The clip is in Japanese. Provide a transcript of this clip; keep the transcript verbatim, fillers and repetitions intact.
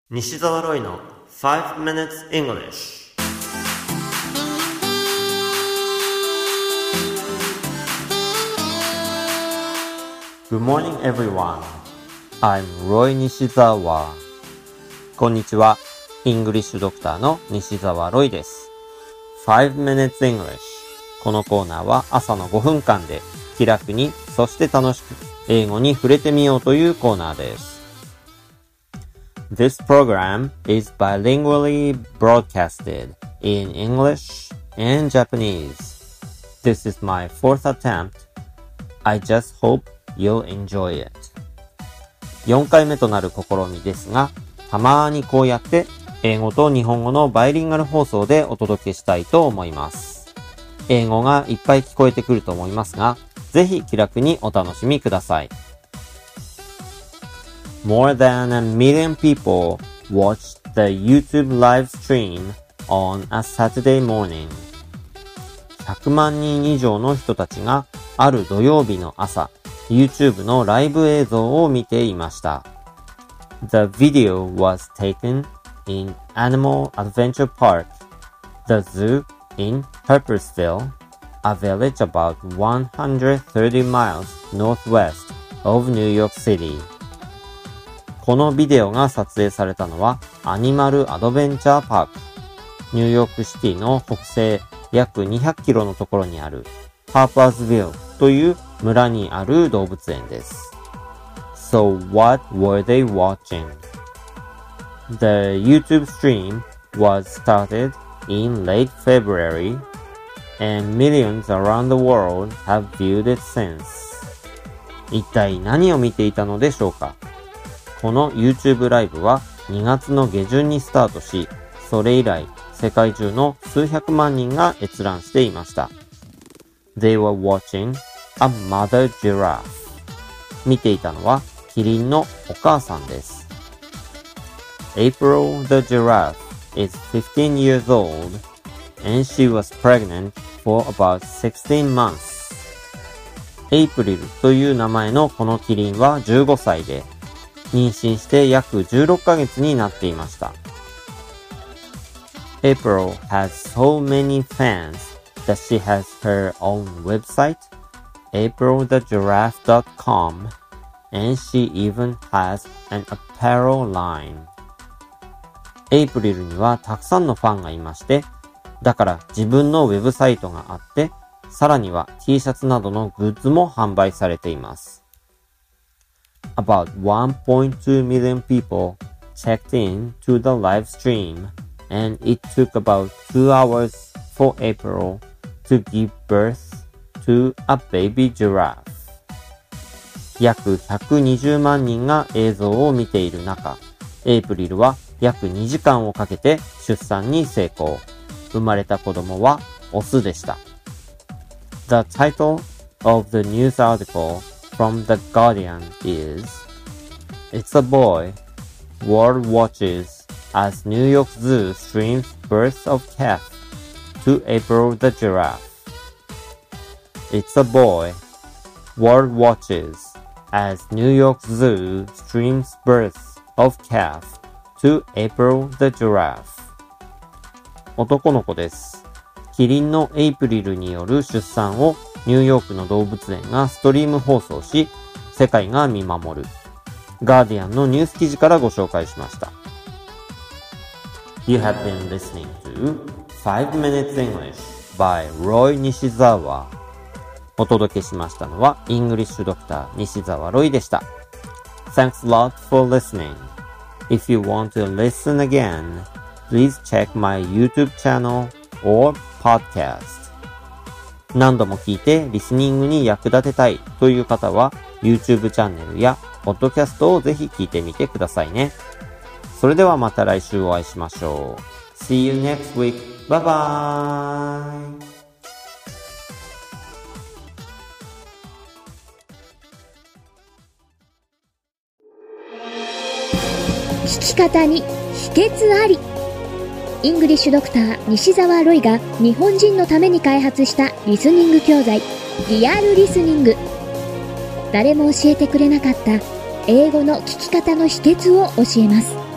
西澤ロイの five minutes English。 Good morning everyone. I'm Roy Nishizawa. こんにちは。イングリッシュドクターの西澤ロイです。five minutes English。 このコーナーは朝のごふんかんで気楽に、そして楽しく英語に触れてみようというコーナーです。This program is bilingually broadcasted in English and Japanese. This is my fourth attempt. I just hope you'll enjoy it. よんかいめとなる試みですが、たまにこうやって英語と日本語のバイリンガル放送でお届けしたいと思います。英語がいっぱい聞こえてくると思いますが、ぜひ気楽にお楽しみください。More than a million people watched the YouTube live stream on a Saturday morning. ひゃくまんにん以上の人たちがある土曜日の朝、YouTube のライブ映像を見ていました。The video was taken in Animal Adventure Park, the zoo in Purposeville, a village about one hundred thirty miles northwest of New York City.このビデオが撮影されたのはアニマルアドベンチャーパーク、ニューヨークシティの北西約にひゃくキロのところにあるハーパーズビルという村にある動物園です。So what were they watching? The YouTube stream was started in late February and millions around the world have viewed it since. 一体何を見ていたのでしょうか？この YouTube ライブはにがつの下旬にスタートし、それ以来世界中の数百万人が閲覧していました。They were watching a mother giraffe. 見ていたのはキリンのお母さんです。April the giraffe is fifteen years old and she was pregnant for about sixteen months. エイプリルという名前のこのキリンはじゅうごさいで、妊娠して約じゅうろっかげつになっていました。April has so many fans that she has her own website, april the giraffe dot com, and she even has an apparel line. エイプリルにはたくさんのファンがいまして、だから自分のウェブサイトがあって、さらには T シャツなどのグッズも販売されています。About one point two million people checked in to the live stream, and it took about two hours for April to give birth to a baby giraffe. 約ひゃくにじゅうまんにんが映像を見ている中、エイプリルは約にじかんをかけて出産に成功。生まれた子供はオスでした。The title of the news article from The Guardian is It's a boy. World watches as New York Zoo streams birth of calf to April the giraffe. It's a boy. World watches as New York Zoo streams birth of calf to April the giraffe. 男の子です。キリンのエイプリルによる出産をニューヨークの動物園がストリーム放送し、世界が見守る。ガーディアンのニュース記事からご紹介しました。You have been listening to five minutes English by Roy Nishizawa. お届けしましたのはイングリッシュドクター西澤ロイでした。Thanks a lot for listening. If you want to listen again, please check my YouTube channel or podcast.何度も聞いてリスニングに役立てたいという方は YouTube チャンネルやポッドキャストをぜひ聞いてみてくださいね。それではまた来週お会いしましょう。See you next week. Bye bye. 聞き方に秘訣あり。イングリッシュドクター西澤ロイが日本人のために開発したリスニング教材リアルリスニング。誰も教えてくれなかった英語の聞き方の秘訣を教えます。